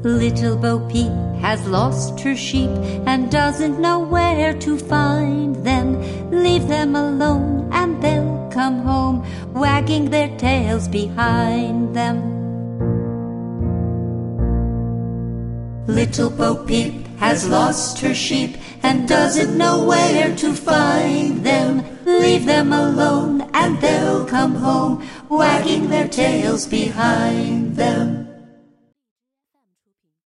Little Bo Peep has lost her sheep and doesn't know where to find them. Leave them alone and they'll come home, wagging their tails behind them. Little Bo Peep has lost her sheep and doesn't know where to find them. Leave them alone and they'll come home, wagging their tails behind them.